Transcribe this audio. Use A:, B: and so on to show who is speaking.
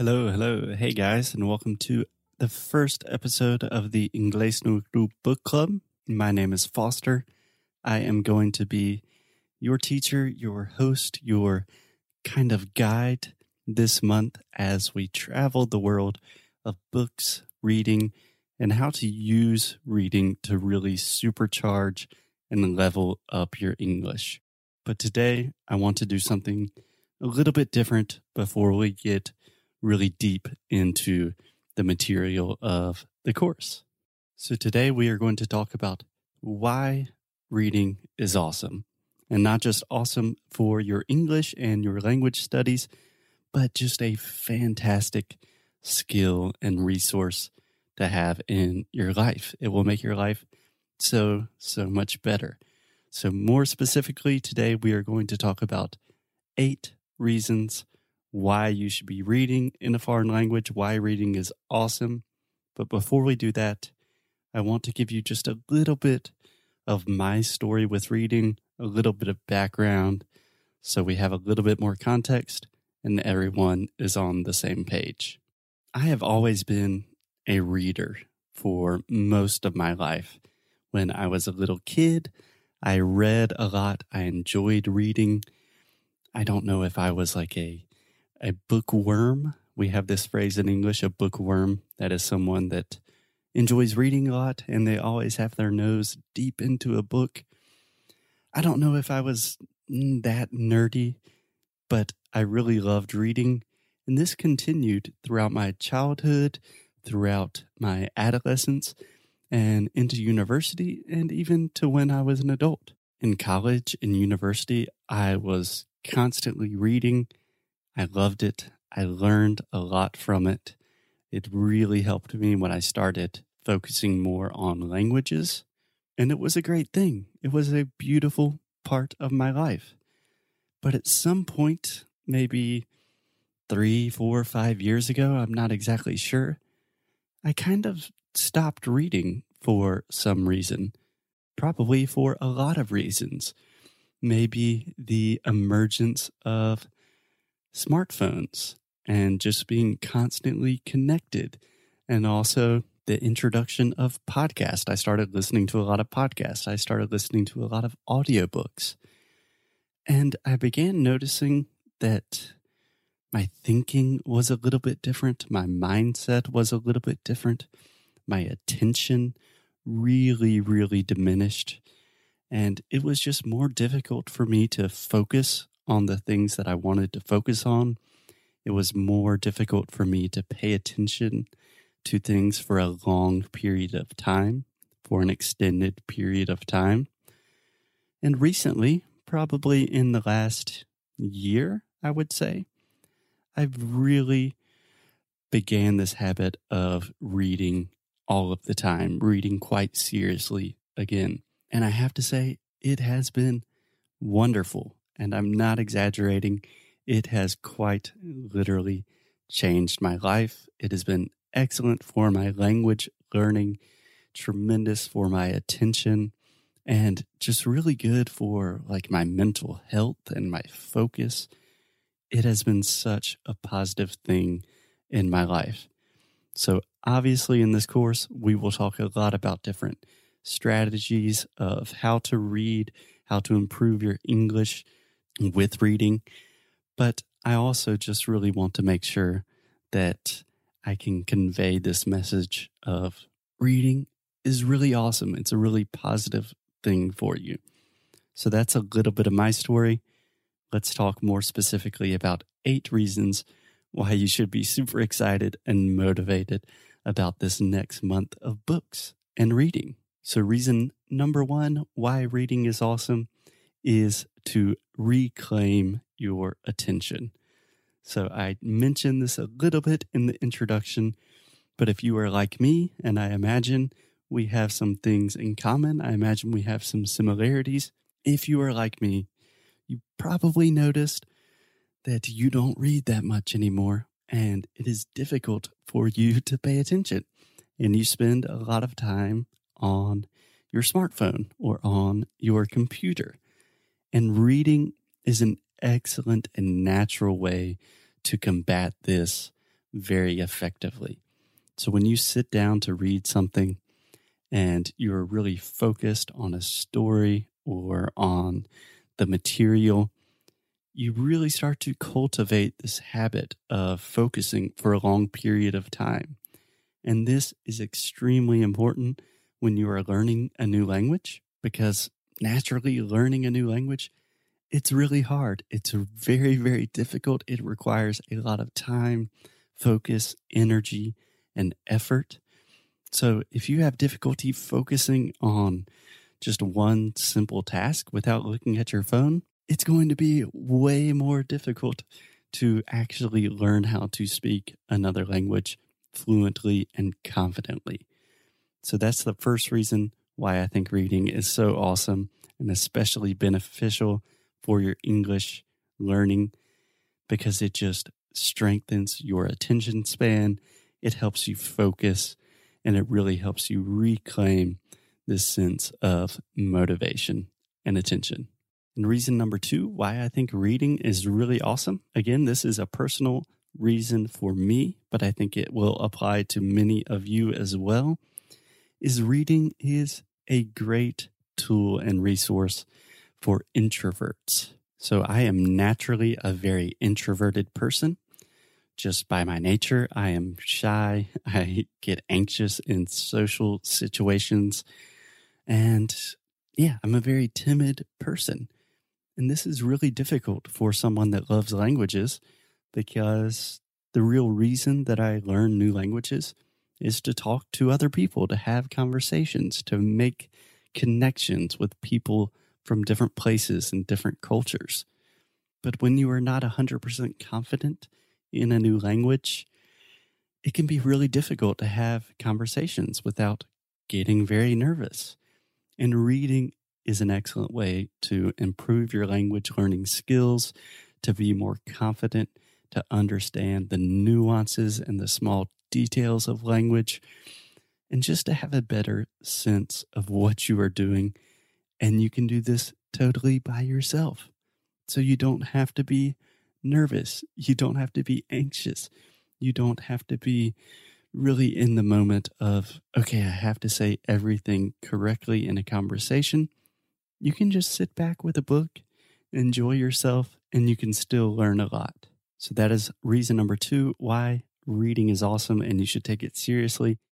A: Hello, hello. Hey guys, and welcome to the first episode of the Inglés no Group Book Club. My name is Foster. I am going to be your teacher, your host, your kind of guide this month as we travel the world of books, reading, and how to use reading to really supercharge and level up your English. But today, I want to do something a little bit different before we get really deep into the material of the course. So today we are going to talk about why reading is awesome, and not just awesome for your English and your language studies, but just a fantastic skill and resource to have in your life. It will make your life so much better. So more specifically, today we are going to talk about 8 reasons why you should be reading in a foreign language, why reading is awesome. But before we do that, I want to give you just a little bit of my story with reading, a little bit of background, so we have a little bit more context and everyone is on the same page. I have always been a reader for most of my life. When I was a little kid, I read a lot. I enjoyed reading. I don't know if I was like a bookworm. We have this phrase in English, a bookworm. That is someone that enjoys reading a lot and they always have their nose deep into a book. I don't know if I was that nerdy, but I really loved reading. And this continued throughout my childhood, throughout my adolescence, and into university, and even to when I was an adult. In college and university, I was constantly reading. I loved it. I learned a lot from it. It really helped me when I started focusing more on languages. And it was a great thing. It was a beautiful part of my life. But at some point, maybe 3, 4, 5 years ago, I'm not exactly sure, I kind of stopped reading for some reason. Probably for a lot of reasons. Maybe the emergence of smartphones and just being constantly connected, and also the introduction of podcasts. I started listening to a lot of podcasts. I started listening to a lot of audiobooks. And I began noticing that my thinking was a little bit different. My mindset was a little bit different. My attention really diminished. And it was just more difficult for me to focus on the things that I wanted to focus on. It was more difficult for me to pay attention to things for a long period of time, for an extended period of time. And recently, probably in the last year, I would say, I've really began this habit of reading all of the time, reading quite seriously again. And I have to say, it has been wonderful. And I'm not exaggerating. It has quite literally changed my life. It has been excellent for my language learning, tremendous for my attention, and just really good for like my mental health and my focus. It has been such a positive thing in my life. So obviously in this course, we will talk a lot about different strategies of how to read, how to improve your English with reading. But I also just really want to make sure that I can convey this message of reading is really awesome. It's a really positive thing for you. So that's a little bit of my story. Let's talk more specifically about 8 reasons why you should be super excited and motivated about this next month of books and reading. So reason number 1 why reading is awesome is to reclaim your attention. So I mentioned this a little bit in the introduction, but if you are like me, and I imagine we have some things in common, I imagine we have some similarities. If you are like me, you probably noticed that you don't read that much anymore, and it is difficult for you to pay attention. And you spend a lot of time on your smartphone or on your computer. And reading is an excellent and natural way to combat this very effectively. So when you sit down to read something and you're really focused on a story or on the material, you really start to cultivate this habit of focusing for a long period of time. And this is extremely important when you are learning a new language, because naturally learning a new language, it's really hard. It's very, very difficult. It requires a lot of time, focus, energy, and effort. So if you have difficulty focusing on just one simple task without looking at your phone, it's going to be way more difficult to actually learn how to speak another language fluently and confidently. So that's the first reason why I think reading is so awesome and especially beneficial for your English learning, because it just strengthens your attention span. It helps you focus, and it really helps you reclaim this sense of motivation and attention. And reason number 2 why I think reading is really awesome. Again, this is a personal reason for me, but I think it will apply to many of you as well, is reading is a great tool and resource for introverts. So I am naturally a very introverted person. Just by my nature, I am shy. I get anxious in social situations. And yeah, I'm a very timid person. And this is really difficult for someone that loves languages, because the real reason that I learn new languages is to talk to other people, to have conversations, to make connections with people from different places and different cultures. But when you are not 100% confident in a new language, it can be really difficult to have conversations without getting very nervous. And reading is an excellent way to improve your language learning skills, to be more confident, to understand the nuances and the small details of language, and just to have a better sense of what you are doing. And you can do this totally by yourself. So you don't have to be nervous. You don't have to be anxious. You don't have to be really in the moment of, okay, I have to say everything correctly in a conversation. You can just sit back with a book, enjoy yourself, and you can still learn a lot. So that is reason number 2 why reading is awesome and you should take it seriously.